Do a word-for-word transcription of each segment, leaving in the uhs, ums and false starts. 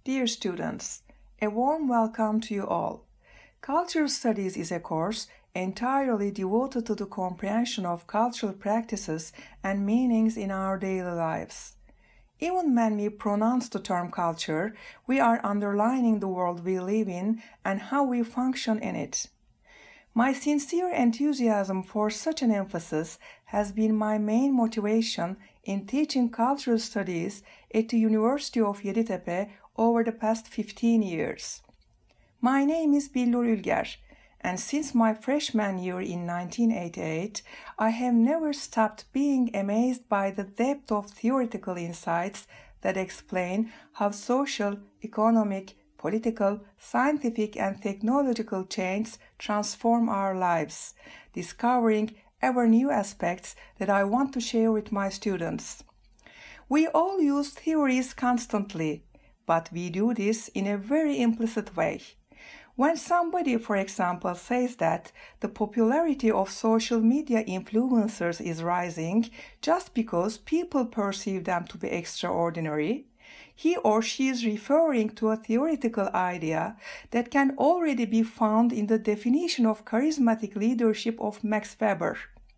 Dear students, a warm welcome to you all. Cultural Studies is a course entirely devoted to the comprehension of cultural practices and meanings in our daily lives. Even when we pronounce the term culture, we are underlining the world we live in and how we function in it. My sincere enthusiasm for such an emphasis has been my main motivation in teaching cultural studies at the University of Yeditepe over the past fifteen years. My name is Billur Ülger, and since my freshman year in nineteen eighty-eight, I have never stopped being amazed by the depth of theoretical insights that explain how social, economic, political, scientific, and technological changes transform our lives, discovering ever new aspects that I want to share with my students. We all use theories constantly, but we do this in a very implicit way. When somebody, for example, says that the popularity of social media influencers is rising just because people perceive them to be extraordinary, he or she is referring to a theoretical idea that can already be found in the definition of charismatic leadership of Max Weber.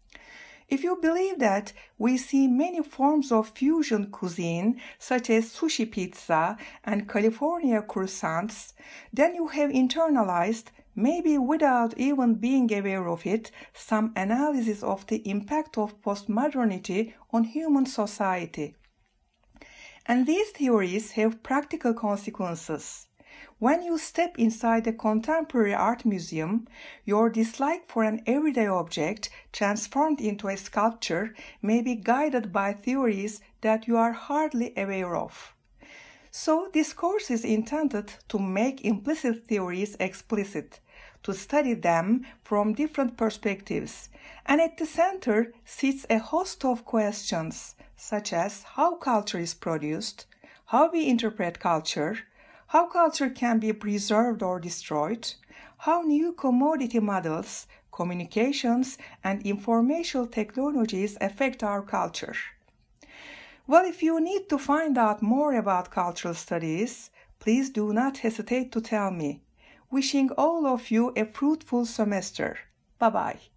If you believe that we see many forms of fusion cuisine, such as sushi pizza and California croissants, then you have internalized, maybe without even being aware of it, some analysis of the impact of postmodernity on human society. And these theories have practical consequences. When you step inside a contemporary art museum, your dislike for an everyday object transformed into a sculpture may be guided by theories that you are hardly aware of. So this course is intended to make implicit theories explicit, to study them from different perspectives, and at the center sits a host of questions, such as how culture is produced, how we interpret culture, how culture can be preserved or destroyed, how new commodity models, communications, and information technologies affect our culture. Well, if you need to find out more about cultural studies, please do not hesitate to tell me. Wishing all of you a fruitful semester. Bye-bye.